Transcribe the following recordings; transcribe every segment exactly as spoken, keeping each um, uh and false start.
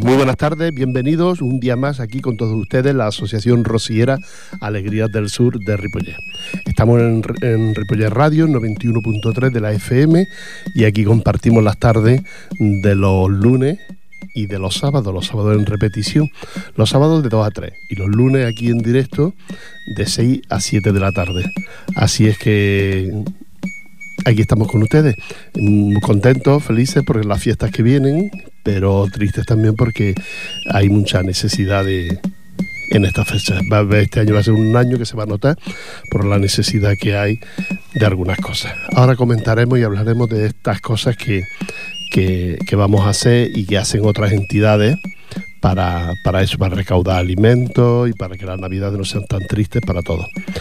Muy buenas tardes, bienvenidos un día más aquí con todos ustedes, la Asociación Rociera Alegrías del Sur de Ripollet. Estamos en, en Ripollet Radio, noventa y uno punto tres de la F M, y aquí compartimos las tardes de los lunes y de los sábados, los sábados en repetición, los sábados de dos a tres, y los lunes aquí en directo de seis a siete de la tarde. Así es que aquí estamos con ustedes, muy contentos, felices por las fiestas que vienen, pero tristes también porque hay mucha necesidad de, en estas fechas. Este año va a ser un año que se va a notar por la necesidad que hay de algunas cosas. Ahora comentaremos y hablaremos de estas cosas que, que, que vamos a hacer y que hacen otras entidades para, para eso, para recaudar alimentos y para que las navidades no sean tan tristes para todos.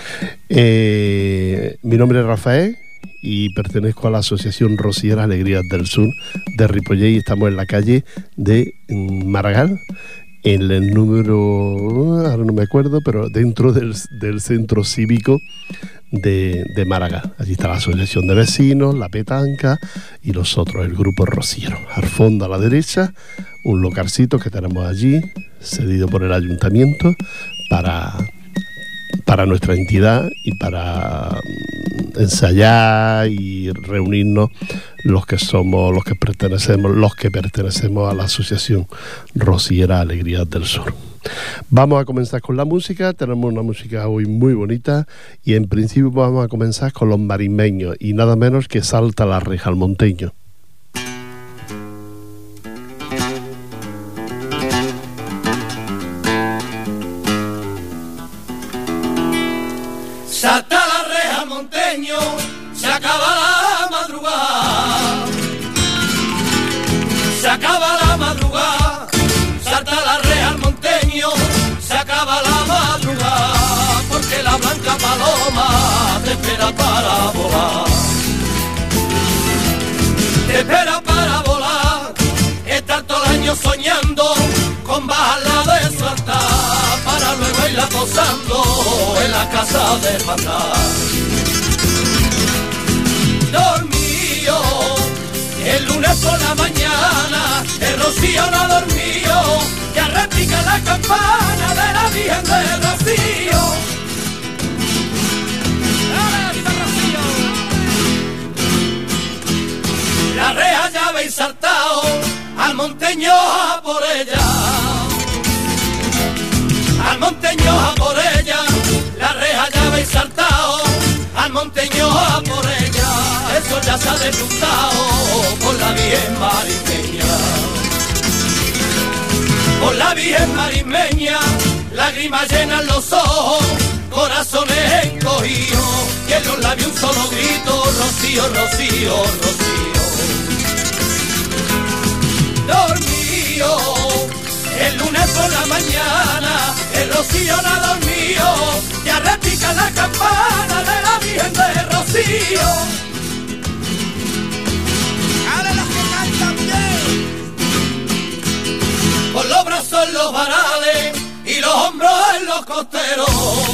Eh, mi nombre es Rafael y pertenezco a la Asociación Rociera Alegrías del Sur de Ripollet, y estamos en la calle de Maragall, en el número, ahora no me acuerdo, pero dentro del, del centro cívico de, de Maragall. Allí está la Asociación de Vecinos, la Petanca y nosotros, el Grupo Rociero. Al fondo a la derecha, un localcito que tenemos allí, cedido por el Ayuntamiento para... para nuestra entidad y para ensayar y reunirnos los que somos, los que pertenecemos, los que pertenecemos a la Asociación Rociera Alegrías del Sur. Vamos a comenzar con la música. Tenemos una música hoy muy bonita y en principio vamos a comenzar con los marismeños y nada menos que Salta la Reja al Monteño. Salta la reja al monteño, se acaba la madrugada. Se acaba la madrugada, salta la reja al monteño, se acaba la madrugada, porque la blanca paloma te espera para volar. Te espera para volar, estar todo el año soñando con bajarla de Salta, para luego irla posando en la casa de hermandad. Dormido, el lunes por la mañana, el rocío no ha dormido, ya repica la campana de la Virgen de Rocío. La reja ya habéis saltado, al monteño a por ella. Al monteño a por ella, la reja ya habéis saltado, al monteño a por ella, eso ya se ha despuntado por la Virgen marismeña. Por la Virgen marismeña, lágrimas llenan los ojos, corazones encogidos, y en los labios un solo grito, Rocío, Rocío, Rocío. Dormido, el lunes por la mañana, el rocío no ha dormido, ya repica la campana de la Virgen de Rocío. ¡Ahora los que cantan bien! Con los brazos en los varales y los hombros en los costeros,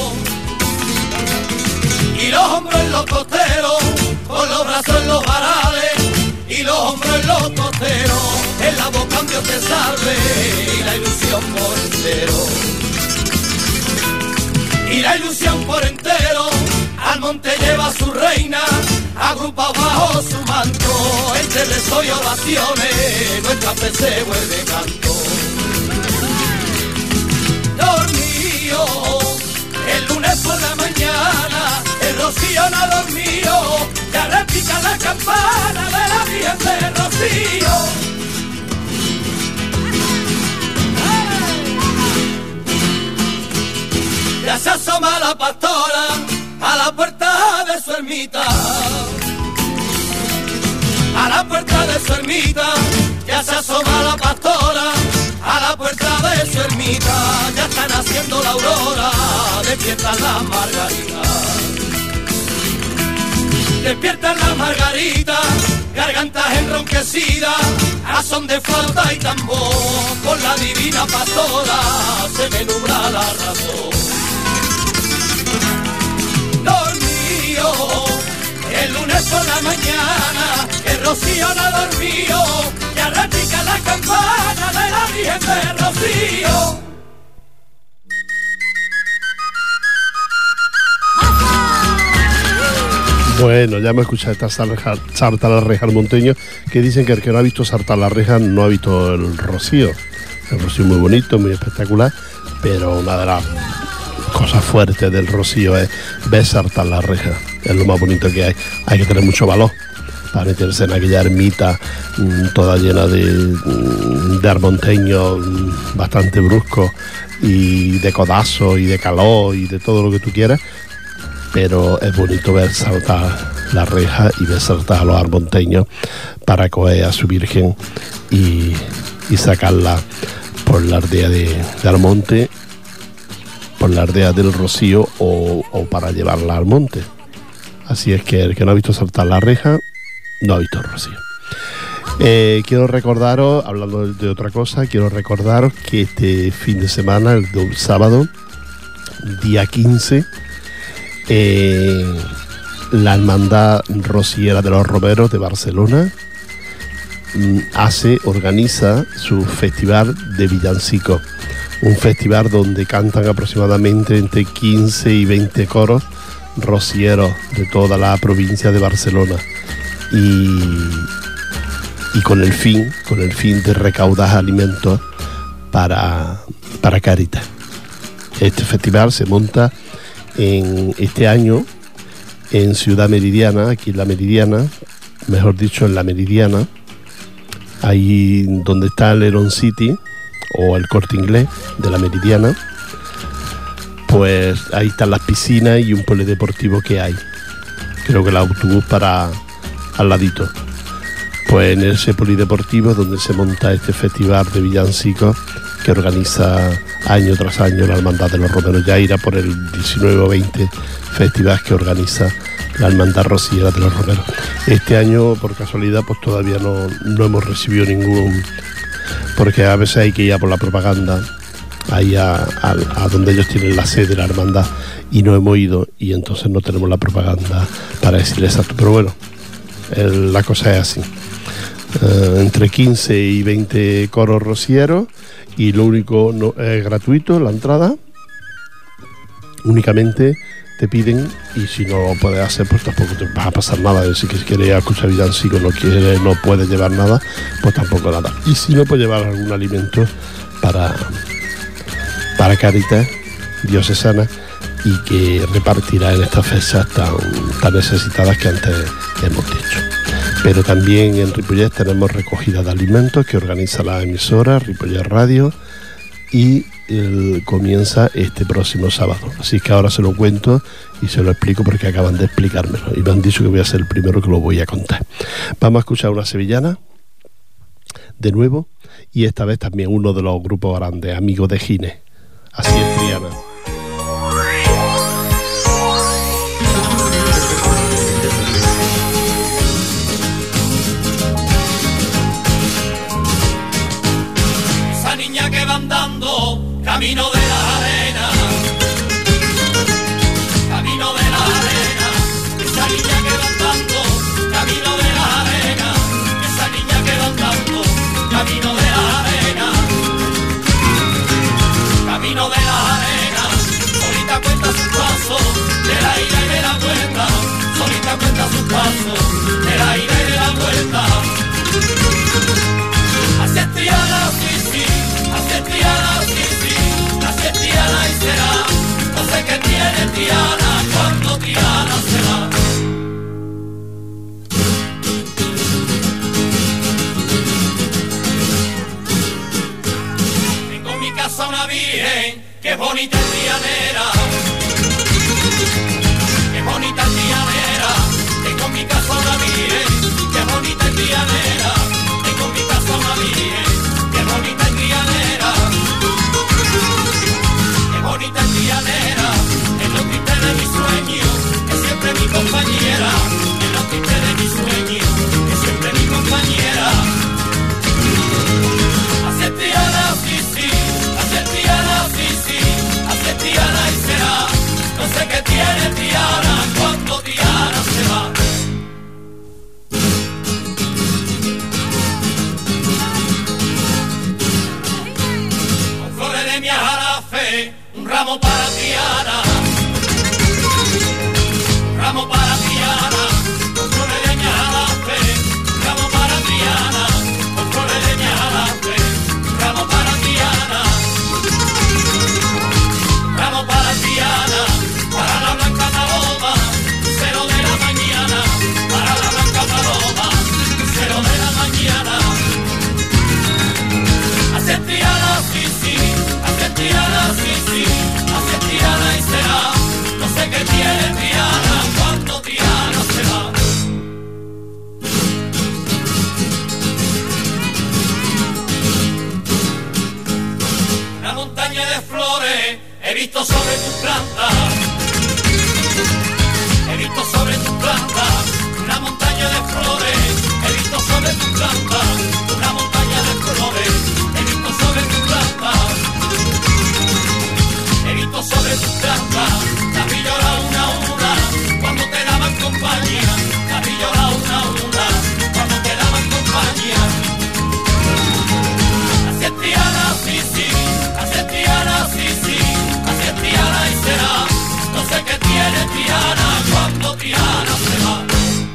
y los hombros en los costeros, con los brazos en los varales y los hombros en los costeros, en la boca un Dios te salve y la ilusión por entero. Y la ilusión por entero, al monte lleva a su reina, agrupado bajo su manto, entre rezos y oraciones, nuestra fe se vuelve canto. Dormido, el lunes por la mañana, el rocío no ha dormido, ya repica la campana de la Virgen de Rocío. Ya se asoma la pastora a la puerta de su ermita, a la puerta de su ermita, ya se asoma la pastora a la puerta de su ermita, ya está naciendo la aurora, despiertan las margaritas, despiertan las margaritas, gargantas enronquecidas, a son de flauta y tambor, con la divina pastora se me nubla la razón. Dormido, el lunes por la mañana, el rocío no ha dormido, ya repica la campana de la Virgen de Rocío. Bueno, ya hemos escuchado esta sarta a la reja monteño, que dicen que el que no ha visto sarta a la reja no ha visto el rocío. El rocío muy bonito, muy espectacular, pero una de las cosas fuertes del rocío es ver sarta a la reja. Es lo más bonito que hay. Hay que tener mucho valor para meterse en aquella ermita mmm, toda llena de, mmm, de armonteños mmm, bastante bruscos y de codazos y de calor y de todo lo que tú quieras. Pero es bonito ver saltar la reja y ver saltar a los armonteños para coger a su Virgen y, y sacarla por la aldea de, de Almonte, por la aldea del Rocío o, o para llevarla al monte. Así es que el que no ha visto saltar la reja no ha visto el Rocío. Eh, quiero recordaros, hablando de otra cosa, quiero recordaros que este fin de semana, el, el sábado, día quince, Eh, la Hermandad Rociera de los Romeros de Barcelona mm, hace, organiza su festival de villancicos, un festival donde cantan aproximadamente entre quince y veinte coros rocieros de toda la provincia de Barcelona y, y con el fin, con el fin de recaudar alimentos para, para Cáritas. Este festival se monta en este año en Ciudad Meridiana, aquí en la Meridiana, mejor dicho en la Meridiana, ahí donde está el Heron City o el Corte Inglés de la Meridiana, pues ahí están las piscinas y un polideportivo que hay, creo que el autobús para al ladito. Pues en ese polideportivo es donde se monta este festival de villancicos que organiza año tras año la Hermandad de los Romeros. Ya irá por el diecinueve o veinte festival que organiza la Hermandad Rociera de los Romeros. Este año, por casualidad, pues todavía no, no hemos recibido ningún, porque a veces hay que ir a por la propaganda, ahí a, a, a donde ellos tienen la sede de la hermandad, y no hemos ido, y entonces no tenemos la propaganda para decirle exacto. Pero bueno, el, la cosa es así. Uh, entre quince y veinte coros rocieros, y lo único no, es gratuito la entrada, únicamente te piden, y si no lo puedes hacer pues tampoco te va a pasar nada. Si quieres escuchar villancico, no quieres, no puedes llevar nada, pues tampoco nada. Y si no, pues llevar algún alimento para para Cáritas diocesana y que repartirá en estas fechas tan, tan necesitadas que antes hemos dicho. Pero también en Ripollet tenemos recogida de alimentos que organiza la emisora Ripollet Radio y el, comienza este próximo sábado. Así que ahora se lo cuento y se lo explico porque acaban de explicármelo y me han dicho que voy a ser el primero que lo voy a contar. Vamos a escuchar una sevillana de nuevo y esta vez también uno de los grupos grandes, Amigos de Gines. Así es, Triana. Camino de la arena, camino de la arena, esa niña que va andando, camino de la arena, esa niña que va andando, camino de la arena, camino de la arena, solita cuenta sus pasos, de la ida y de la vuelta, solita cuenta sus pasos, de la ida y de la vuelta. Así es Triana, sí, sí, así es Triana, sí, sí. Triana y será, no sé qué tiene Triana cuando Triana se va. Tengo en mi casa una virgen que es bonita y trianera, que es bonita y trianera. Tengo en mi casa una virgen que es bonita y trianera. Tengo en mi casa una virgen que es bonita y trianera. Bonita trianera, en los tristes de mi sueño, es siempre mi compañera. En los tristes de mi sueño, es siempre mi compañera. Hace Triana, sí, sí, hace Triana, sí, sí, hace Triana y ramo para Triana, ramo para Triana, con flores de leña a la fe, ramo para Triana, con flores de leña a la fe, ramo para Triana, ramo para Triana, para la blanca paloma, cero de la mañana, para la blanca paloma, cero de la mañana. Hace Triana, sí, sí, hace Triana, sí, sí, hace Triana y será, no sé qué tiene Triana, cuando Triana se va. Una montaña de flores he visto sobre tus plantas, he visto sobre tus plantas, una montaña de flores, he visto sobre tus plantas, una montaña de flores, he visto sobre tus plantas, he visto sobre tus plantas, las vi llorar una a una, cuando te daban compañía, las vi llorar una a una, cuando te daban compañía. Así es Triana, sí, sí, así es Triana, sí, sí, así es Triana y será, no sé qué tiene Triana, cuando Triana se va.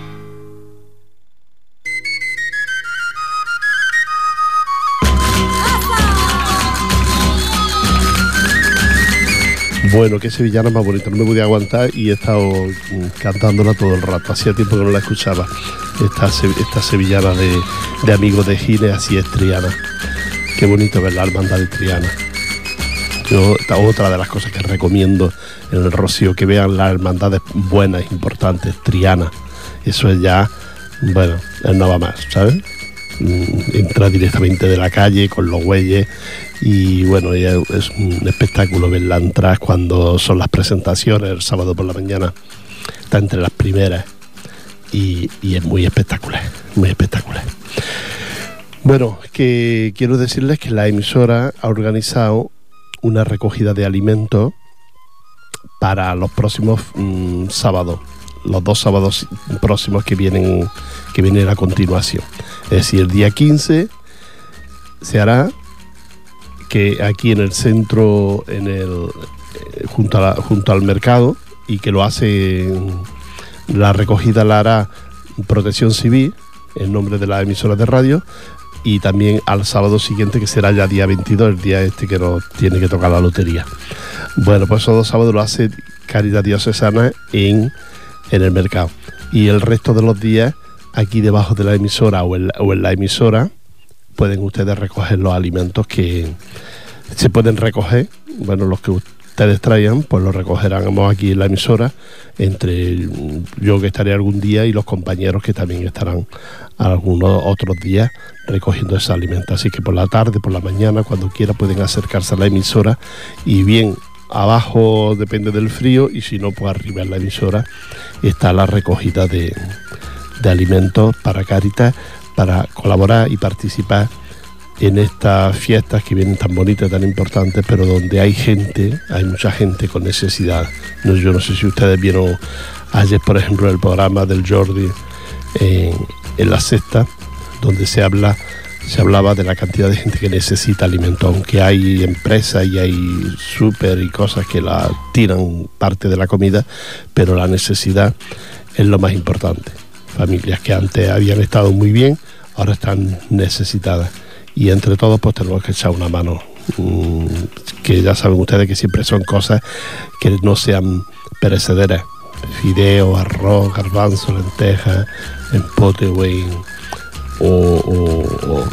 Bueno, qué sevillana más bonita, no me podía aguantar y he estado cantándola todo el rato. Hacía tiempo que no la escuchaba. Esta, esta sevillana de, de Amigos de Gines, así es Triana. Qué bonito ver la hermandad de Triana. Yo, otra de las cosas que recomiendo en el Rocío, que vean las hermandades buenas, importantes, Triana. Eso es ya, bueno, no va más, ¿sabes? Entra directamente de la calle con los bueyes y bueno, es un espectáculo verla entrar cuando son las presentaciones el sábado por la mañana. Está entre las primeras y, y es muy espectacular, muy espectacular. Bueno, que quiero decirles que la emisora ha organizado una recogida de alimentos para los próximos mmm, sábados, los dos sábados próximos que vienen, que vienen a continuación. Es decir, el día quince se hará que aquí en el centro, en el junto, a la, junto al mercado, y que lo hace, la recogida la hará Protección Civil en nombre de la emisora de radio, y también al sábado siguiente, que será ya día veintidós, el día este que nos tiene que tocar la lotería. Bueno, pues esos dos sábados lo hace Caridad Diocesana en, en el mercado, y el resto de los días aquí debajo de la emisora o en, o en la emisora pueden ustedes recoger los alimentos que se pueden recoger. Bueno, los que ustedes traigan, pues los recogerán aquí en la emisora, entre yo que estaré algún día y los compañeros que también estarán algunos otros días recogiendo ese alimento. Así que por la tarde, por la mañana, cuando quiera, pueden acercarse a la emisora, y bien abajo depende del frío, y si no, pues arriba en la emisora está la recogida de, de alimentos para Cáritas, para colaborar y participar en estas fiestas que vienen tan bonitas, tan importantes, pero donde hay gente, hay mucha gente con necesidad. No, yo no sé si ustedes vieron ayer, por ejemplo, el programa del Jordi en, en La Sexta, donde se habla se hablaba de la cantidad de gente que necesita alimento, aunque hay empresas y hay súper y cosas que la tiran parte de la comida, pero la necesidad es lo más importante. Familias que antes habían estado muy bien, ahora están necesitadas, y entre todos pues tenemos que echar una mano, mmm, que ya saben ustedes que siempre son cosas que no sean perecederas: fideo, arroz, garbanzo, lentejas, empote, güey, o, o, o,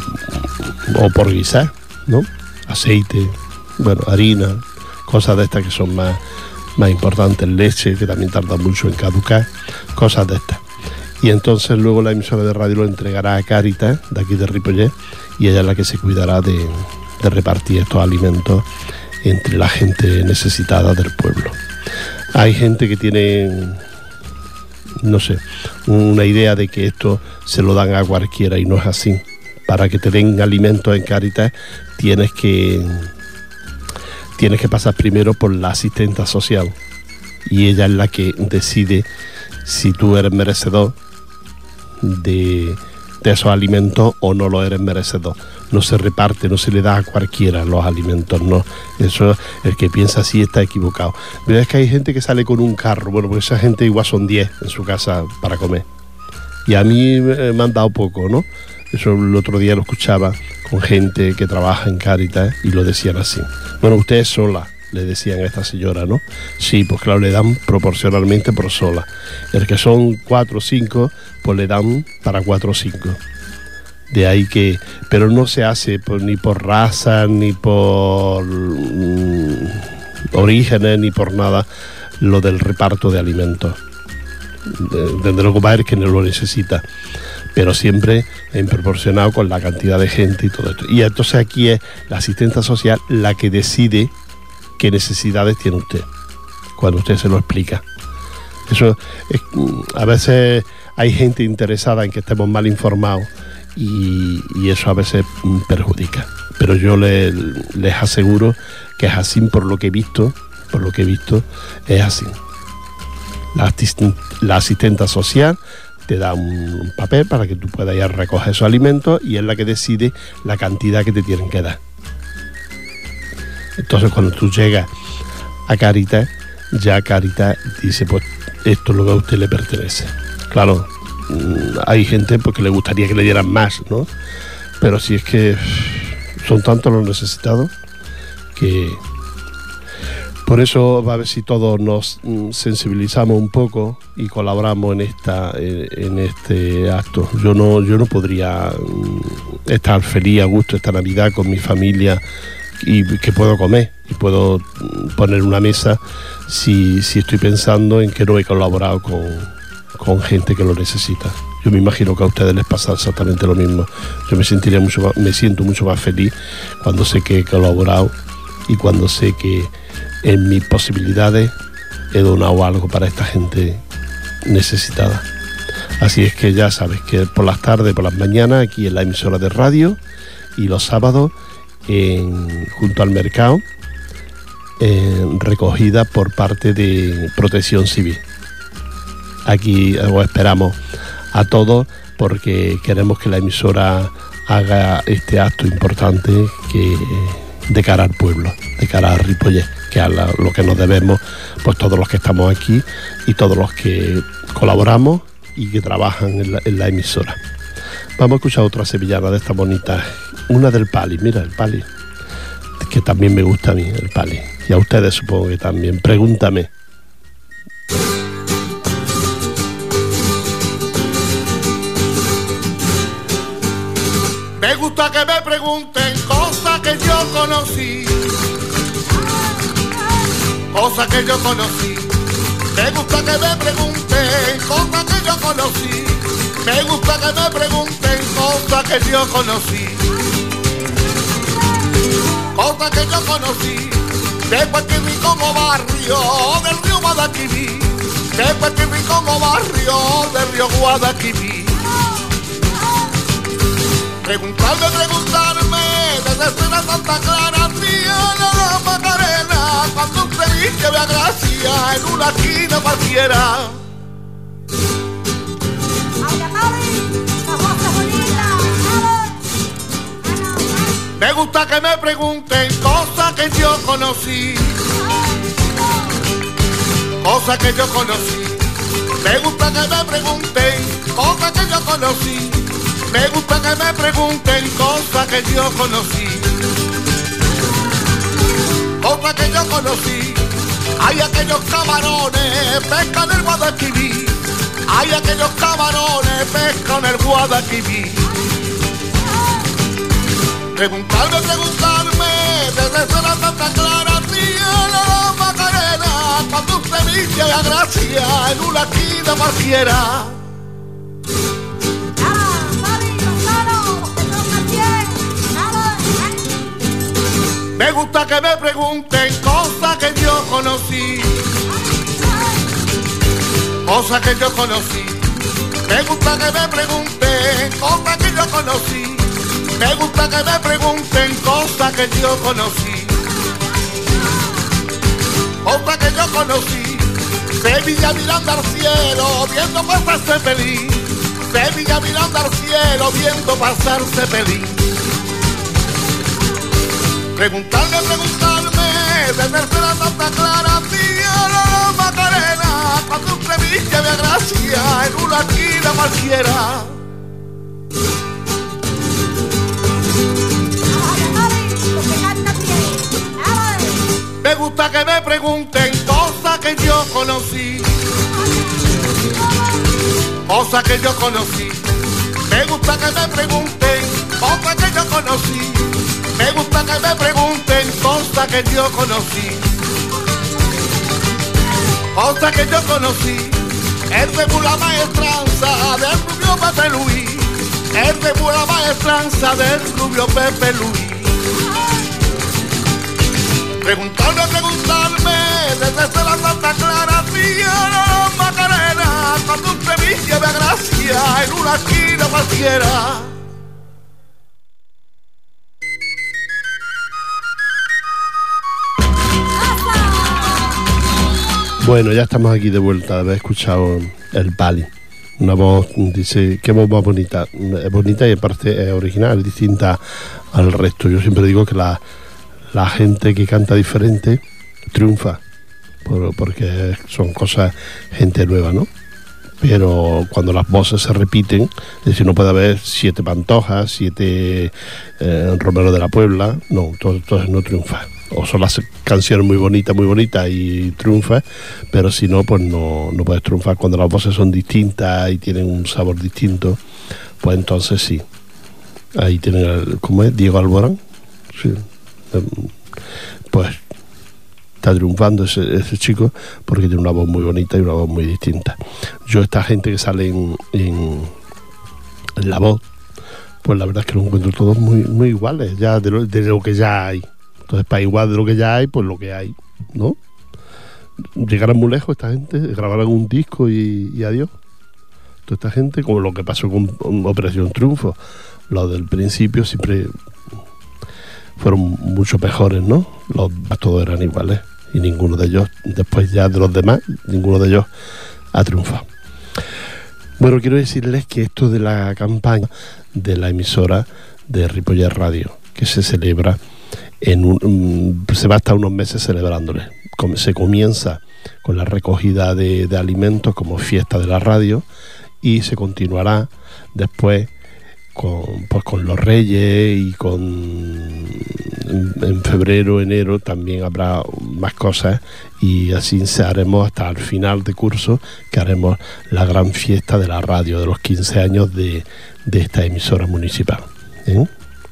o por guisar, ¿no? Aceite, bueno, harina, cosas de estas que son más, más importantes, leche, que también tarda mucho en caducar, cosas de estas. Y entonces luego la emisora de radio lo entregará a Cáritas, de aquí de Ripollet, y ella es la que se cuidará de, de repartir estos alimentos entre la gente necesitada del pueblo. Hay gente que tiene, no sé, una idea de que esto se lo dan a cualquiera, y no es así. Para que te den alimentos en Cáritas tienes que, tienes que pasar primero por la asistenta social, y ella es la que decide si tú eres merecedor de, de esos alimentos o no lo eres merecedor. no se reparte, no se le da a cualquiera los alimentos, no. Eso, el que piensa así está equivocado. Pero es que hay gente que sale con un carro, bueno, pues esa gente igual son diez en su casa para comer. Y a mí eh, me han dado poco, ¿no? Eso el otro día lo escuchaba con gente que trabaja en Cáritas y lo decían así. Bueno, usted es sola, le decían a esta señora, ¿no? Sí, pues claro, le dan proporcionalmente por sola. El que son cuatro o cinco, pues le dan para cuatro o cinco. De ahí que, pero no se hace por, ni por raza, ni por mm, orígenes, ni por nada, lo del reparto de alimentos. Desde luego va a haber que no lo necesita, pero siempre en proporcionado con la cantidad de gente y todo esto. Y entonces aquí es la asistenta social la que decide qué necesidades tiene usted, cuando usted se lo explica. Eso es, a veces hay gente interesada en que estemos mal informados, Y, y eso a veces perjudica, pero yo le, les aseguro que es así por lo que he visto, por lo que he visto es así. La, asisten, la asistenta social te da un, un papel para que tú puedas ir a recoger esos alimentos y es la que decide la cantidad que te tienen que dar. Entonces cuando tú llegas a Cáritas, ya Cáritas dice, pues esto es lo que a usted le pertenece. Claro, hay gente porque le gustaría que le dieran más, ¿no? Pero si es que son tantos los necesitados que por eso va a ver si todos nos sensibilizamos un poco y colaboramos en esta en este acto. Yo no yo no podría estar feliz a gusto esta Navidad con mi familia y que puedo comer y puedo poner una mesa si si estoy pensando en que no he colaborado con con gente que lo necesita. Yo me imagino que a ustedes les pasa exactamente lo mismo. Yo me sentiría mucho más, me siento mucho más feliz cuando sé que he colaborado y cuando sé que en mis posibilidades he donado algo para esta gente necesitada. Así es que ya sabes que por las tardes, por las mañanas, aquí en la emisora de radio y los sábados en, junto al mercado, en, recogida por parte de Protección Civil. Aquí os esperamos a todos porque queremos que la emisora haga este acto importante que de cara al pueblo, de cara a Ripollet, que es lo que nos debemos pues todos los que estamos aquí y todos los que colaboramos y que trabajan en la, en la emisora. Vamos a escuchar otra sevillana de estas bonitas, una del Pali, mira el Pali, que también me gusta a mí el Pali, y a ustedes supongo que también. Pregúntame. Me gusta que me pregunten cosas que yo conocí, cosas que yo conocí. Me gusta que me pregunten cosas que yo conocí. Me gusta que me pregunten cosas que yo conocí, cosas que yo conocí. De cualquier rincón o barrio del río Guadalquivir, de cualquier rincón o barrio del río Guadalquivir. Preguntarme, preguntarme, desde la Santa Clara, tía la Macarena, cuando un ceviche vea gracia en una esquina cualquiera. Me gusta que me pregunten cosas que yo conocí, cosas que yo conocí. Me gusta que me pregunten cosas que yo conocí. Me gusta que me pregunten cosas que yo conocí, cosas que yo conocí. Hay aquellos camarones, pescan el Guadalquivir. Hay aquellos camarones, pescan el Guadalquivir. Preguntarme, preguntarme, desde la Santa Clara, tía la Macarena, cuando usted me dice la gracia en una esquina cualquiera. Me gusta que me pregunten cosas que yo conocí, cosas que yo conocí. Me gusta que me pregunten cosas que yo conocí. Me gusta que me pregunten cosas que yo conocí, cosas que yo conocí. Sevilla mirando al cielo, viendo pasarse feliz. Sevilla mirando al cielo, viendo pasarse feliz. Preguntarme, preguntarme, desde la Santa Clara, tía la Macarena, cuando un Sevilla me agracia en una esquina cualquiera. Me gusta que me pregunten cosas que yo conocí, cosas que yo conocí. Me gusta que me pregunten cosas que yo conocí. Me gusta que me pregunten cosas que yo conocí, cosas que yo conocí. El de la maestranza del rubio Pepe Luis, el de la maestranza del rubio Pepe Luis. Preguntarme, preguntarme, desde la Santa Clara, tía la Macarena, cuando un Sevilla me agracia en una esquina cualquiera. Bueno, ya estamos aquí de vuelta de haber escuchado el Bali. Una voz, dice, qué voz más bonita. Es bonita y aparte es original, es distinta al resto. Yo siempre digo que la... la gente que canta diferente triunfa, por, porque son cosas, gente nueva, ¿no? Pero cuando las voces se repiten, es decir, no puede haber siete Pantojas, siete eh, Romero de la Puebla, no, entonces no triunfa. O son las canciones muy bonitas, muy bonitas y triunfa, pero si no, pues no, no puedes triunfar. Cuando las voces son distintas y tienen un sabor distinto, pues entonces sí. Ahí tienen, el, ¿cómo es? Diego Alborán, sí. Pues está triunfando ese, ese chico porque tiene una voz muy bonita y una voz muy distinta. Yo esta gente que sale en, en, en La Voz, pues la verdad es que los encuentro todos muy, muy iguales ya de lo, de lo que ya hay. Entonces, para igual de lo que ya hay, pues lo que hay, ¿no? Llegarán muy lejos esta gente, grabarán un disco y, y adiós. Toda esta gente, como lo que pasó con Operación Triunfo, los del principio siempre fueron mucho mejores, ¿no? Los todos eran iguales y ninguno de ellos, después ya de los demás, ninguno de ellos ha triunfado. Bueno, quiero decirles que esto de la campaña de la emisora de Ripollet Radio, que se celebra en un, se va hasta unos meses celebrándole. Se comienza con la recogida de, de alimentos como fiesta de la radio y se continuará después con, pues con los Reyes y con en, en febrero, enero también habrá más cosas y así se haremos hasta el final de curso, que haremos la gran fiesta de la radio de los quince años de, de esta emisora municipal, ¿eh?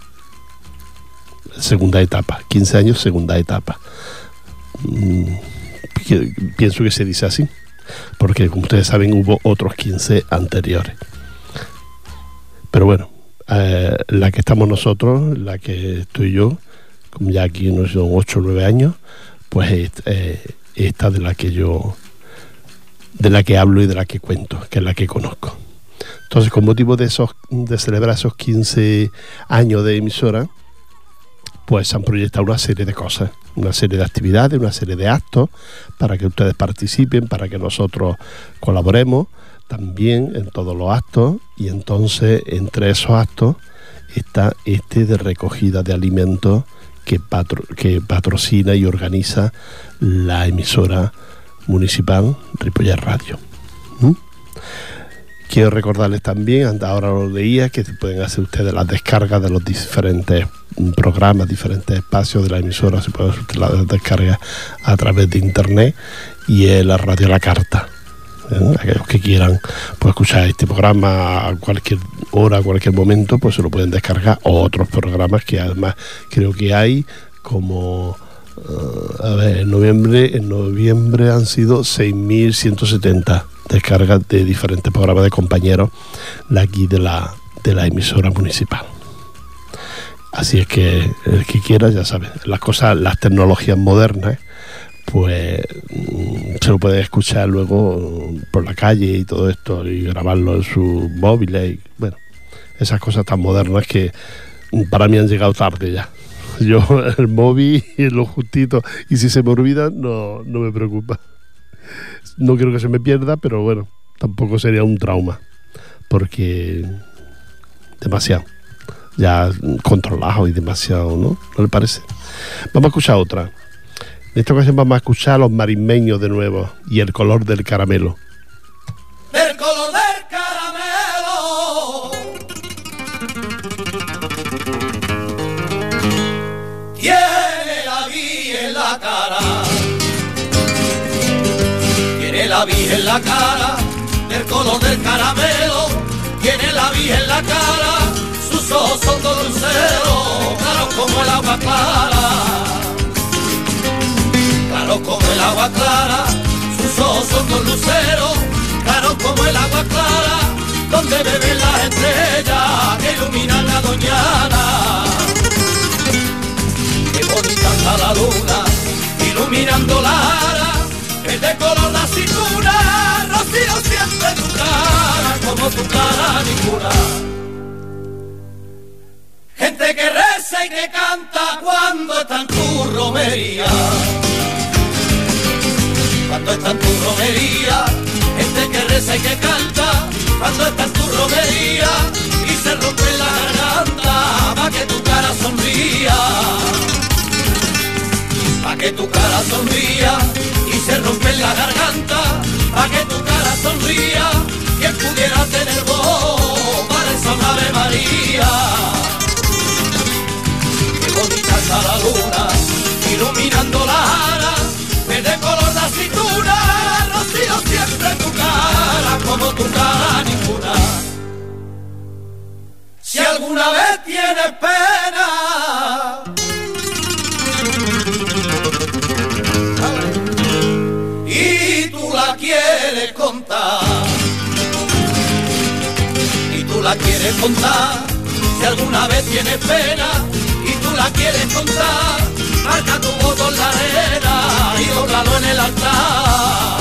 Segunda etapa, quince años, segunda etapa. Mm, pienso que se dice así, porque como ustedes saben hubo otros quince anteriores. Pero bueno, eh, la que estamos nosotros, la que estoy yo, como ya aquí no son ocho o nueve años, pues es eh, esta de la que yo, de la que hablo y de la que cuento, que es la que conozco. Entonces, con motivo de esos, de celebrar esos quince años de emisora, pues se han proyectado una serie de cosas, una serie de actividades, una serie de actos para que ustedes participen, para que nosotros colaboremos también en todos los actos, y entonces entre esos actos está este de recogida de alimentos que, patro, que patrocina y organiza la emisora municipal Ripollet Radio. ¿Mm? Quiero recordarles también, ahora lo leía, que pueden hacer ustedes las descargas de los diferentes programas, diferentes espacios de la emisora. Se pueden hacer las descargas a través de internet y en la radio La Carta. ¿Eh? Aquellos que quieran pues escuchar este programa a cualquier hora, a cualquier momento, pues se lo pueden descargar, o otros programas que además creo que hay como uh, a ver, en noviembre en noviembre han sido seis mil ciento setenta descargas de diferentes programas de compañeros de aquí de la, de la emisora municipal. Así es que el que quiera, ya sabe, las cosas, las tecnologías modernas, pues se lo puede escuchar luego por la calle y todo esto, y grabarlo en sus móviles, y bueno, esas cosas tan modernas que para mí han llegado tarde ya. Yo el móvil y lo justito, y si se me olvida no, no me preocupa. No quiero que se me pierda, pero bueno, tampoco sería un trauma, porque demasiado. ya controlado y demasiado, ¿no? ¿No le parece? Vamos a escuchar otra. En esta ocasión vamos a escuchar a Los Marismeños de nuevo y El color del caramelo. El color del caramelo tiene la vía en la cara, tiene la vía en la cara, del color del caramelo, tiene la vía en la cara, sus ojos son dos luceros, claros como el agua clara, claros como el agua clara, sus ojos son dos luceros, claros como el agua clara, donde beben las estrellas que iluminan la doñana. Qué bonita está la luna, iluminando la ara, es de color la cintura, rocío siempre tu cara, como tu cara ninguna. Gente que reza y que canta cuando está en tu romería, cuando está en tu romería, gente que reza y que canta, cuando está en tu romería, y se rompe la garganta, pa' que tu cara sonría, pa' que tu cara sonría, y se rompe la garganta, pa' que tu cara sonría, quien pudiera tener voz para esa Ave María. Qué bonita está la luna, iluminando la ara, de color la cintura, rocío siempre tu cara, como tu cara ninguna. Si alguna vez tienes pena y tú la quieres contar, y tú la quieres contar, si alguna vez tienes pena y tú la quieres contar, marca tu voto en la arena y dóblalo en el altar.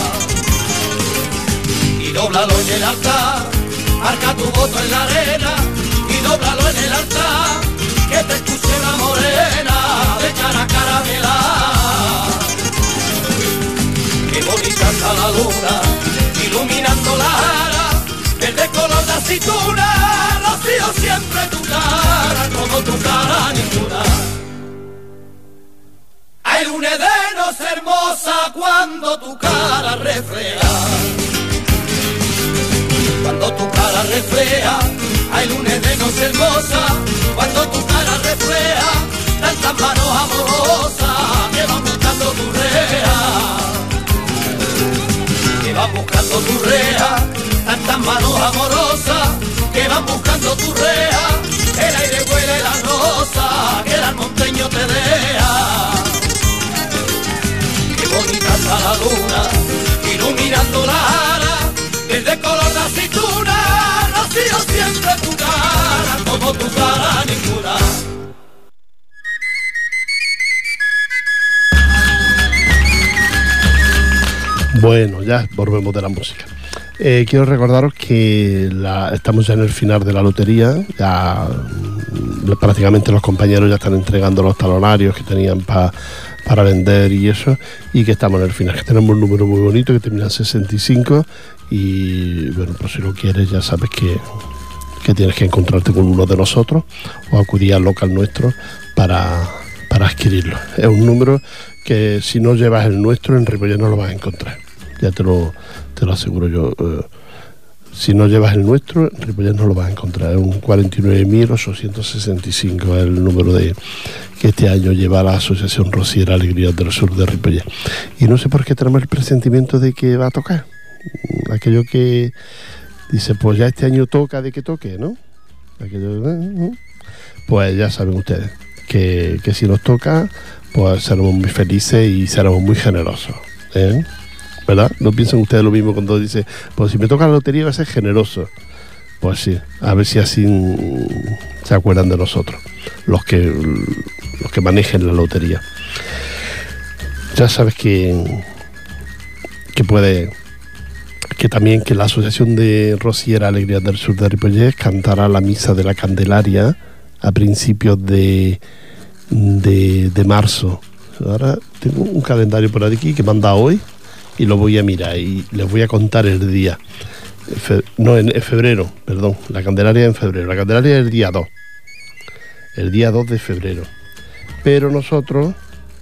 Y dóblalo en el altar, marca tu voto en la arena y dóblalo en el altar. Que te escuche una morena de cara caramela. Qué bonita está la luna, iluminando la ara, verde color de aceituna, rocío siempre tu cara, como tu cara ninguna. Hay luna de nos hermosa cuando tu cara refleja, cuando tu cara refleja. Hay luna de nos hermosa cuando tu cara refleja, tantas manos amorosas que van buscando tu rea, que van buscando tu rea, tantas manos amorosas que van buscando tu rea. El aire huele la rosa que el monteño te deja. Qué bonita está la luna, iluminando la ara, desde color de aceituna, rocío siempre tu cara, como tu cara ninguna. Bueno, ya volvemos de la música. Eh, quiero recordaros que la, estamos ya en el final de la lotería, ya prácticamente los compañeros ya están entregando los talonarios que tenían pa, para vender y eso, y que estamos en el final, que tenemos un número muy bonito que termina en sesenta y cinco, y bueno, pues si lo quieres ya sabes que, que tienes que encontrarte con uno de nosotros o acudir al local nuestro para, para adquirirlo. Es un número que si no llevas el nuestro en Ripollet no lo vas a encontrar, ya te lo, te lo aseguro yo. Eh, si no llevas el nuestro, en Ripollet no lo vas a encontrar. Es un cuarenta y nueve mil ochocientos sesenta y cinco, es el número de que este año lleva la Asociación Rociera Alegrías del Sur de Ripollet. Y no sé por qué tenemos el presentimiento de que va a tocar. Aquello que dice, pues ya este año toca de que toque, ¿no? Aquello, pues ya saben ustedes que, que si nos toca, pues seremos muy felices y seremos muy generosos, ¿eh? ¿Verdad? ¿No piensan ustedes lo mismo cuando dice, pues si me toca la lotería va a ser generoso? Pues sí, a ver si así se acuerdan de nosotros, los que los que manejen la lotería. Ya sabes que que puede que también que la Asociación de Rociera Alegrías del Sur de Ripollet cantará la misa de la Candelaria a principios de de, de marzo. Ahora tengo un calendario por aquí que manda hoy y lo voy a mirar y les voy a contar el día. Fe, no, en, en febrero, perdón, la Candelaria en febrero. La Candelaria es el día dos. el día dos de febrero. Pero nosotros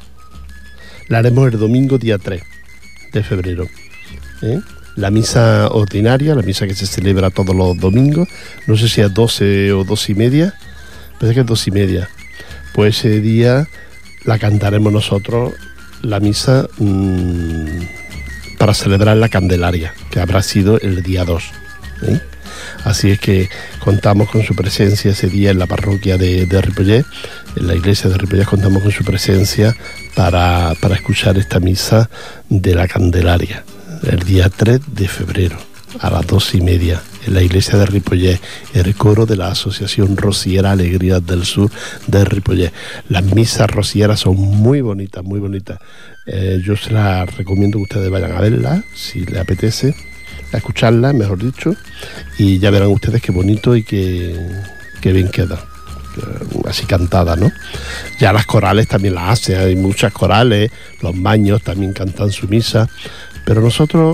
la haremos el domingo día tres de febrero. ¿eh? La misa ordinaria, la misa que se celebra todos los domingos, no sé si es doce o dos y media, parece que es dos y media. Pues ese día la cantaremos nosotros, la misa, mmm, para celebrar la Candelaria, que habrá sido el día dos. ¿eh? Así es que contamos con su presencia ese día en la parroquia de, de Ripollet, en la iglesia de Ripollet contamos con su presencia para, para escuchar esta misa de la Candelaria, el día tres de febrero, a las dos y media, en la iglesia de Ripollet, el coro de la Asociación Rociera Alegrías del Sur de Ripollet. Las misas rocieras son muy bonitas, muy bonitas. Eh, yo se las recomiendo que ustedes vayan a verlas, si les apetece, a escucharlas, mejor dicho, y ya verán ustedes qué bonito y qué, qué bien queda, así cantada, ¿no? Ya las corales también las hacen, hay muchas corales, los maños también cantan su misa, pero nosotros,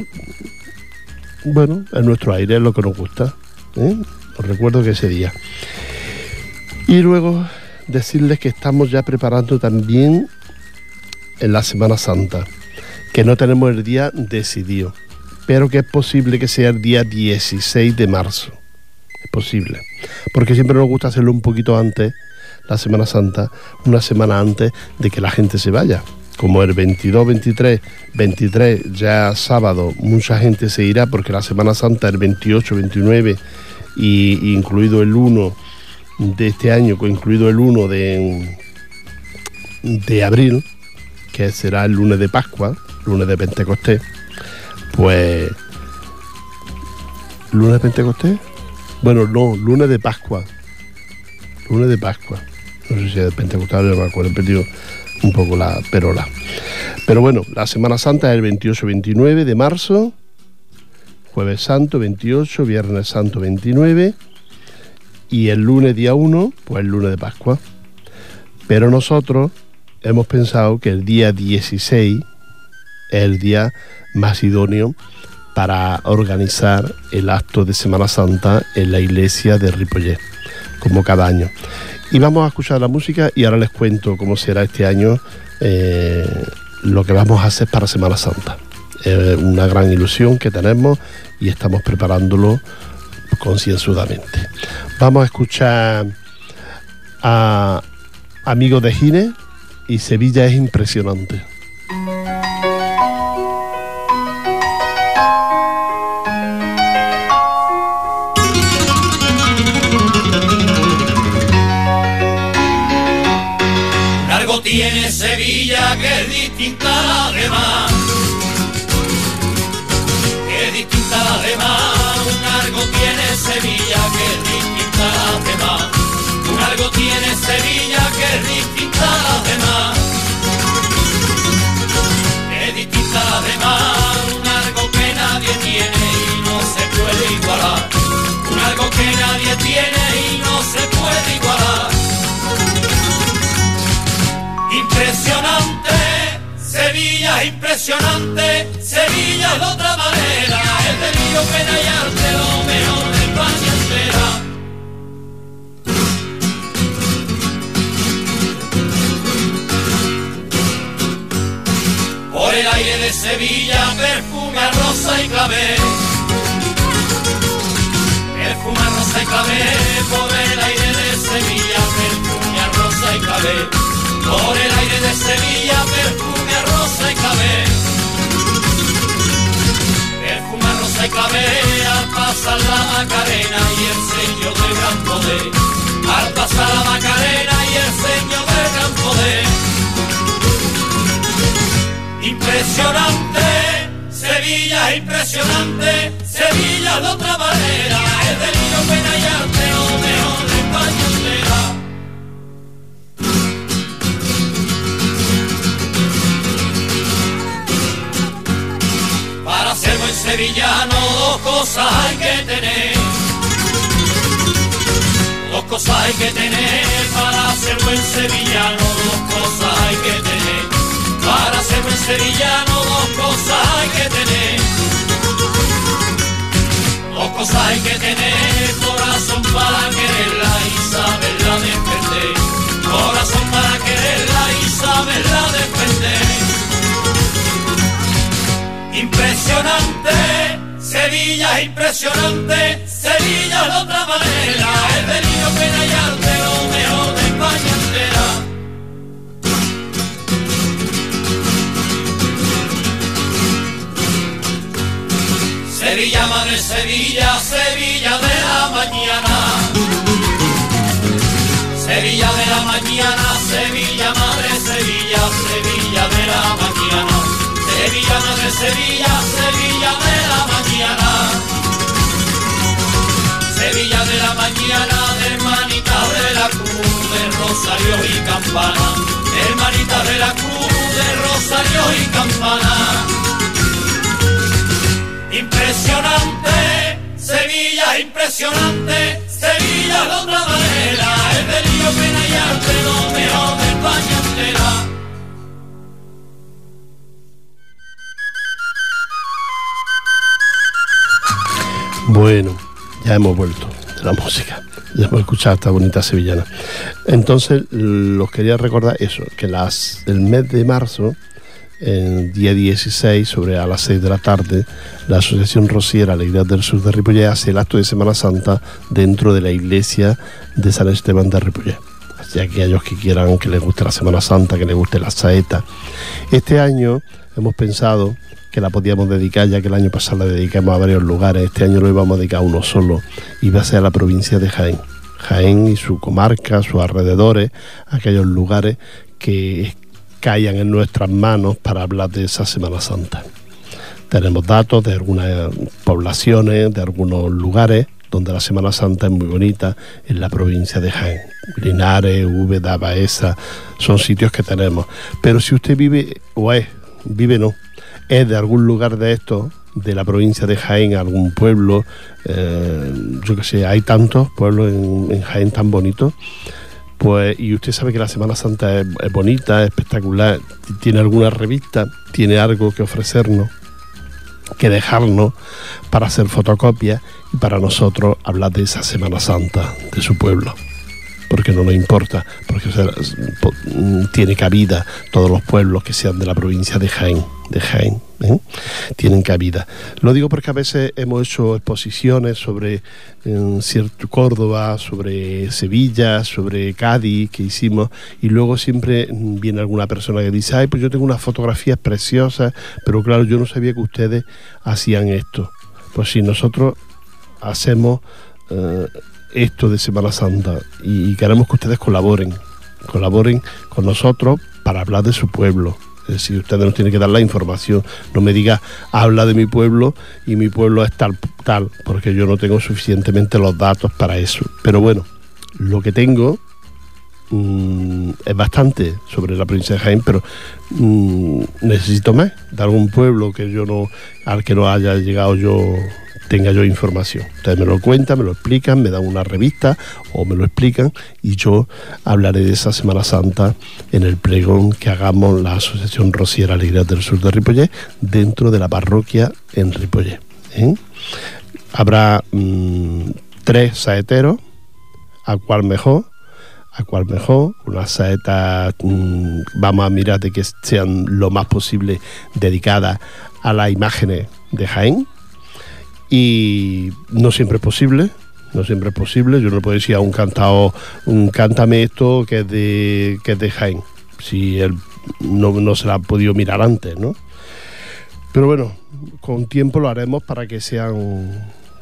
bueno, en nuestro aire es lo que nos gusta, ¿eh? Os recuerdo que ese día. Y luego decirles que estamos ya preparando también en la Semana Santa, que no tenemos el día decidido, pero que es posible que sea el día dieciséis de marzo. Es posible, porque siempre nos gusta hacerlo un poquito antes, la Semana Santa, una semana antes de que la gente se vaya. Como el veintidós, veintitrés, veintitrés, ya sábado, mucha gente se irá porque la Semana Santa el veintiocho, veintinueve, y, y incluido el uno de este año, incluido el uno de, de abril, que será el lunes de Pascua, lunes de Pentecostés, pues... ¿Lunes de Pentecostés? Bueno, no, lunes de Pascua. Lunes de Pascua. No sé si es de Pentecostés, no me acuerdo, he perdido un poco la perola. Pero bueno, la Semana Santa es el veintiocho, veintinueve de marzo, Jueves Santo veintiocho, Viernes Santo veintinueve, y el lunes día uno, pues el lunes de Pascua. Pero nosotros hemos pensado que el día dieciséis es el día más idóneo para organizar el acto de Semana Santa en la iglesia de Ripollet, como cada año. Y vamos a escuchar la música y ahora les cuento cómo será este año eh, lo que vamos a hacer para Semana Santa. Es eh, una gran ilusión que tenemos y estamos preparándolo concienzudamente. Vamos a escuchar a Amigos de Gine y Sevilla es impresionante. Tiene Sevilla que es distinta a la demás, que es distinta a la demás. Un algo tiene Sevilla que es distinta a la demás. Un algo tiene Sevilla que es distinta a la demás, que es distinta a la demás. Un algo que nadie tiene y no se puede igualar. Un algo que nadie tiene y no se puede igualar. Impresionante, Sevilla es impresionante, Sevilla es de otra manera, es de lío, pena y arte, lo mejor de España entera. Por el aire de Sevilla, perfume a rosa y clavel, perfume a rosa y clavel, por el aire de Sevilla, perfume a rosa y clavel. Por el aire de Sevilla, perfume a rosa y clavel, perfume a rosa y clavel, al pasar la Macarena y el sello del gran poder, al pasar la Macarena y el sello del gran poder. Impresionante, Sevilla es impresionante, Sevilla de otra manera, es de lío, pena y arte, lo mejor de España entera. Ser buen sevillano, dos cosas hay que tener, dos cosas hay que tener, para ser buen sevillano, dos cosas hay que tener, para ser buen sevillano, dos cosas hay que tener, dos cosas hay que tener, corazón para quererla y saberla defender. impresionante, Sevilla de otra manera, es delirio, pena y arte, lo mejor de España entera. Sevilla, madre Sevilla, Sevilla de la mañana. Sevilla de la mañana, Sevilla, madre Sevilla, Sevilla de la mañana. Sevilla, madre Sevilla, Sevilla de la mañana. Sevilla de la mañana, hermanita de la cruz, de rosario y campana. Hermanita de la cruz, de rosario y campana. Impresionante, Sevilla, impresionante, Sevilla de otra manera, es delirio, pena y arte, lo mejor de España entera. Bueno, ya hemos vuelto de la música, ya hemos escuchado esta bonita sevillana. Entonces, los quería recordar eso, que las, el mes de marzo, el día dieciséis, sobre a las seis de la tarde, la Asociación Rociera Alegrías del Sur de Ripollet hace el acto de Semana Santa dentro de la iglesia de San Esteban de Ripollet. Así que aquellos que quieran, que les guste la Semana Santa, que les guste la saeta. Este año hemos pensado que la podíamos dedicar, ya que el año pasado la dedicamos a varios lugares. Este año lo íbamos a dedicar a uno solo, y va a ser a la provincia de Jaén. Jaén y su comarca, sus alrededores, aquellos lugares que caigan en nuestras manos para hablar de esa Semana Santa. Tenemos datos de algunas poblaciones, de algunos lugares donde la Semana Santa es muy bonita en la provincia de Jaén. Linares, Úbeda, Baeza, son sitios que tenemos. Pero si usted vive, o es, vive no, es de algún lugar de estos, de la provincia de Jaén, algún pueblo, eh, yo qué sé, hay tantos pueblos en, en Jaén tan bonitos, pues, y usted sabe que la Semana Santa es, es bonita, es espectacular, tiene alguna revista, tiene algo que ofrecernos, que dejarnos para hacer fotocopias y para nosotros hablar de esa Semana Santa de su pueblo, porque no nos importa, porque o sea, tiene cabida todos los pueblos que sean de la provincia de Jaén, de Jaén, ¿eh? Tienen cabida. Lo digo porque a veces hemos hecho exposiciones sobre eh, cierto Córdoba, sobre Sevilla, sobre Cádiz que hicimos, y luego siempre viene alguna persona que dice: ay, pues yo tengo unas fotografías preciosas, pero claro, yo no sabía que ustedes hacían esto. Pues sí, nosotros hacemos eh, esto de Semana Santa y queremos que ustedes colaboren, colaboren con nosotros para hablar de su pueblo. Es decir, ustedes nos tienen que dar la información. No me diga, habla de mi pueblo y mi pueblo es tal, tal, porque yo no tengo suficientemente los datos para eso. Pero bueno, lo que tengo mmm, es bastante sobre la provincia de Jaén, pero mmm, necesito más de algún pueblo que yo no, al que no haya llegado yo, tenga yo información. Ustedes me lo cuentan, me lo explican, me dan una revista o me lo explican, y yo hablaré de esa Semana Santa en el pregón que hagamos la Asociación Rociera Alegrías del Sur de Ripollet dentro de la parroquia en Ripollet, ¿eh? Habrá mmm, tres saeteros, a cual mejor, a cual mejor, unas saetas mmm, vamos a mirar de que sean lo más posible dedicadas a las imágenes de Jaén. Y no siempre es posible, no siempre es posible. Yo no puedo decir a un cantado, un cántame esto que es de que es de Jaén, si él no, no se la ha podido mirar antes, ¿no? Pero bueno, con tiempo lo haremos para que sean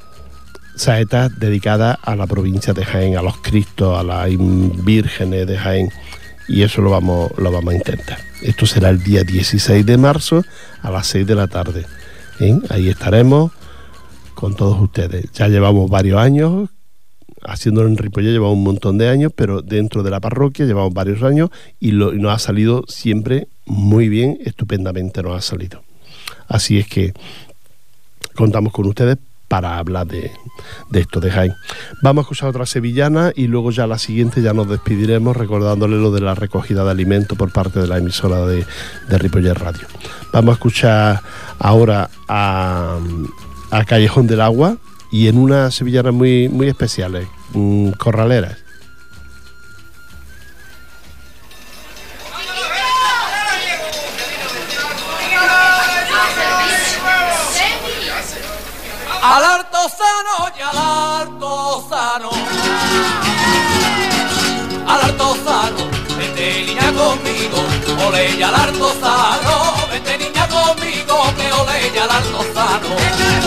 saetas dedicadas a la provincia de Jaén, a los Cristos, a las vírgenes de Jaén, y eso lo vamos, lo vamos a intentar. Esto será el día dieciséis de marzo a las seis de la tarde, ¿eh? Ahí estaremos con todos ustedes. Ya llevamos varios años haciéndolo en Ripollet, llevamos un montón de años, pero dentro de la parroquia llevamos varios años y, lo, y nos ha salido siempre muy bien, estupendamente nos ha salido. Así es que contamos con ustedes para hablar de, de esto de Jaén. Vamos a escuchar otra sevillana y luego ya la siguiente ya nos despediremos recordándole lo de la recogida de alimentos por parte de la emisora de, de Ripollet Radio. Vamos a escuchar ahora a... a Callejón del Agua, y en unas sevillanas muy, muy especiales, mmm, corraleras. Al harto Altozano y al Altozano, al Altozano, vente niña conmigo, ole y al Altozano, vente niña conmigo, que ole y al Altozano,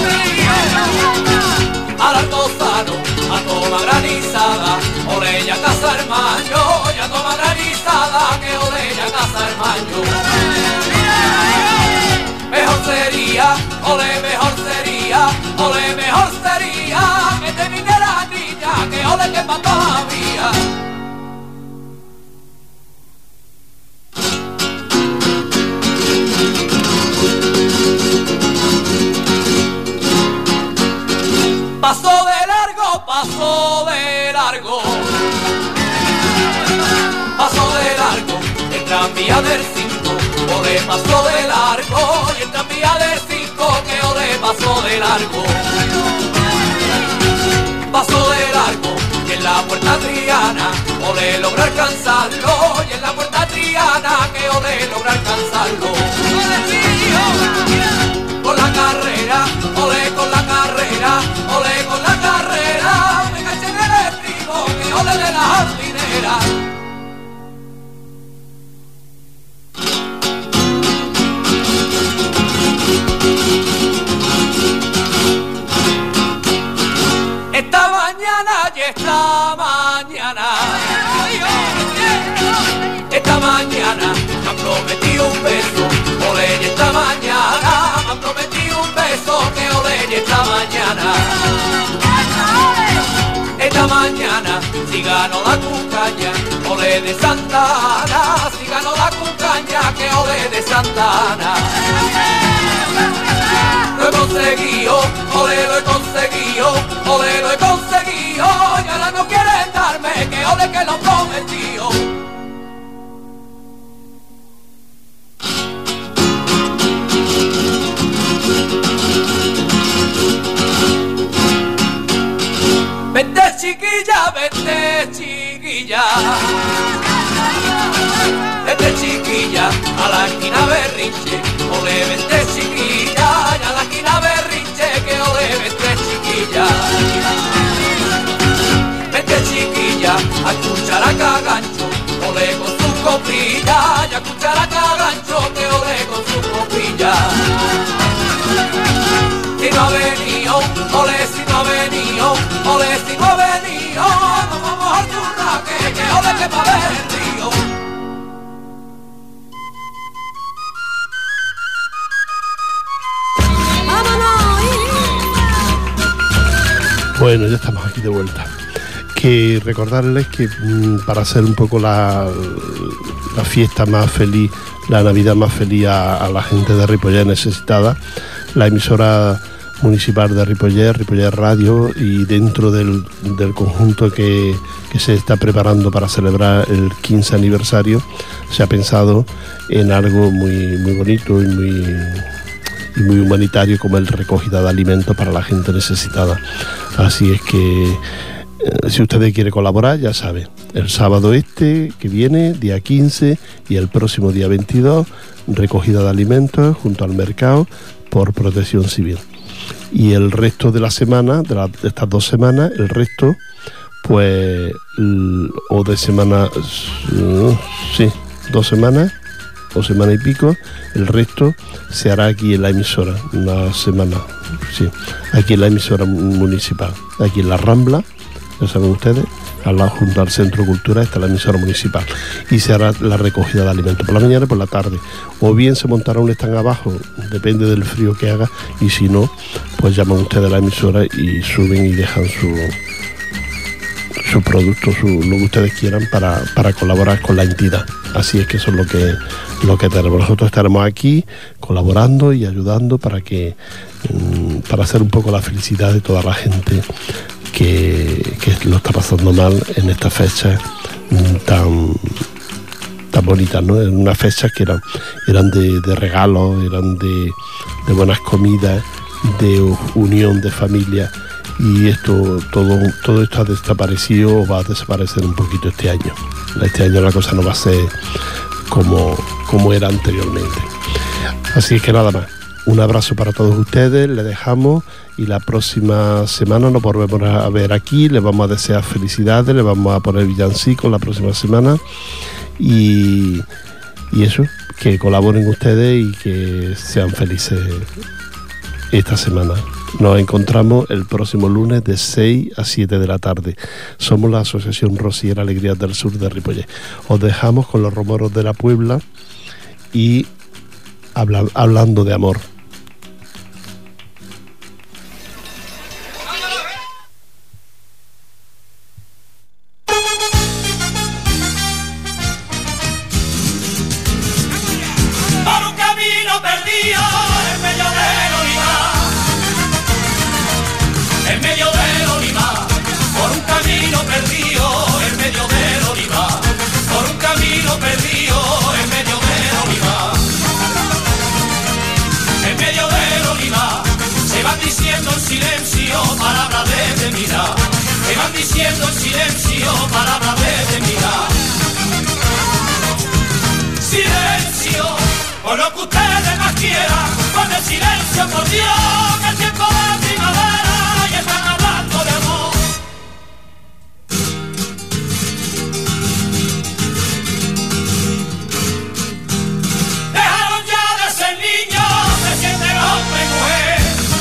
al Altozano, a toma granizada, ole y a casa hermano, y a toma granizada, que ole y a casa hermano. Mejor sería, ole, mejor sería, ole, mejor sería que te viniera niña, que ole que pa' todavía. Pasó de largo, pasó de largo, pasó de largo, el tranvía del cinco, ole pasó de largo, y el tranvía del cinco, que ole pasó de largo, pasó de largo, y en la puerta Triana, ole logra alcanzarlo, y en la puerta Triana, que ole logra alcanzarlo. Con la carrera, ole con la carrera, ole con la carrera, me caché en el estribo, que ole de la jardinera. Esta mañana y esta mañana, esta mañana me han prometido un beso, ole y esta mañana me han prometido un beso, que ole y esta mañana, esta mañana si gano la cucaña, ole de Santa Ana, si gano la cucaña, que ole de Santa Ana. Lo he conseguido, ole lo he conseguido, ole lo he conseguido, y ahora no quieren darme, que ole que lo prometió. Vente chiquilla, vente chiquilla, vente chiquilla, a la esquina Berrinche, ole vente chiquilla, y a la esquina Berrinche, que ole vente chiquilla, vente chiquilla, a escuchar a Cagancho, ole con su copilla, y a escuchar a Cagancho, que ole con su copilla. Si no ha venido, ole si no ha venido, ole si no ha venido, nos vamos al churraque, que ole que pa' ver el río. Bueno, ya estamos aquí de vuelta. Que recordarles que mmm, para hacer un poco la, la fiesta más feliz, la Navidad más feliz a, a la gente de Ripollet necesitada, la emisora municipal de Ripollet, Ripollet Radio, y dentro del, del conjunto que, que se está preparando para celebrar el quince aniversario, se ha pensado en algo muy, muy bonito y muy, y muy humanitario, como el recogida de alimentos para la gente necesitada. Así es que eh, si usted quiere colaborar, ya sabe, el sábado este que viene, día quince, y el próximo día veintidós, recogida de alimentos junto al mercado por Protección Civil. Y el resto de la semana, de, la, de estas dos semanas, el resto, pues, l, o de semana, uh, sí, dos semanas, o semana y pico, el resto se hará aquí en la emisora, una semana, sí, aquí en la emisora municipal, aquí en la Rambla, ya saben ustedes, al lado junto al Centro Cultural está la emisora municipal, y se hará la recogida de alimentos por la mañana y por la tarde, o bien se montará un stand abajo, depende del frío que haga, y si no, pues llaman ustedes a la emisora y suben y dejan su su producto, su, lo que ustedes quieran para, para colaborar con la entidad. Así es que eso es lo que, lo que tenemos. Nosotros estaremos aquí colaborando y ayudando para que para hacer un poco la felicidad de toda la gente que, que lo está pasando mal en estas fechas tan tan bonitas, ¿no? En unas fechas que eran, eran de, de regalos, eran de, de buenas comidas, de unión de familia. Y esto, todo, todo esto ha desaparecido o va a desaparecer un poquito este año. Este año la cosa no va a ser como, como era anteriormente. Así que nada más. un abrazo para todos ustedes, les dejamos y la próxima semana nos volvemos a ver aquí, les vamos a desear felicidades, les vamos a poner villancicos la próxima semana y, y eso, que colaboren ustedes y que sean felices esta semana. Nos encontramos el próximo lunes de seis a siete de la tarde. Somos la Asociación Rociera Alegrías del Sur de Ripollet. Os dejamos con los romeros de la Puebla y habla, hablando de amor. Diciendo en silencio palabras de mirar. Silencio, por lo que ustedes más quieran, con el silencio, por Dios, que el tiempo de primavera y están hablando de amor. Dejaron ya de ser niños, se sienten hombre y mujer.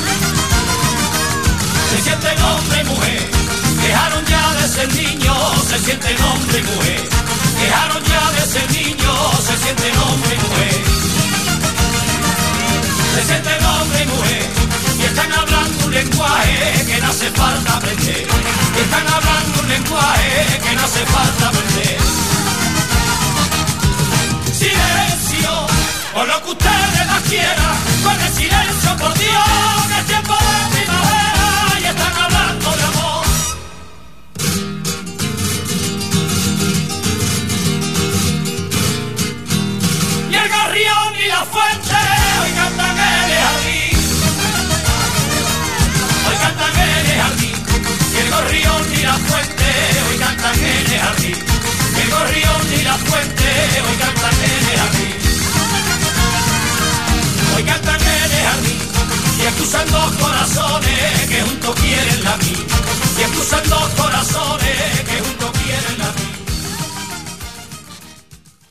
Se sienten hombre y mujer. Dejaron ya de ser niños, se sienten hombre y mujer. Dejaron ya de ser niños, se sienten hombre y mujer. Se sienten hombre y mujer. Y están hablando un lenguaje que no hace falta aprender. Y están hablando un lenguaje que no hace falta aprender. Silencio, por lo que ustedes más quieran. Con el silencio, por Dios, que es tiempo de primavera y están hablando de amor. Y la fuente hoy cantan en el jardín. Hoy cantan en el jardín. Y el gorrión y la fuente hoy cantan en el jardín. Y el gorrión y la fuente hoy cantan en el jardín. Hoy cantan en el jardín. Y excusan dos corazones que juntos quieren la mí. Y excusan dos corazones que juntos quieren la mí.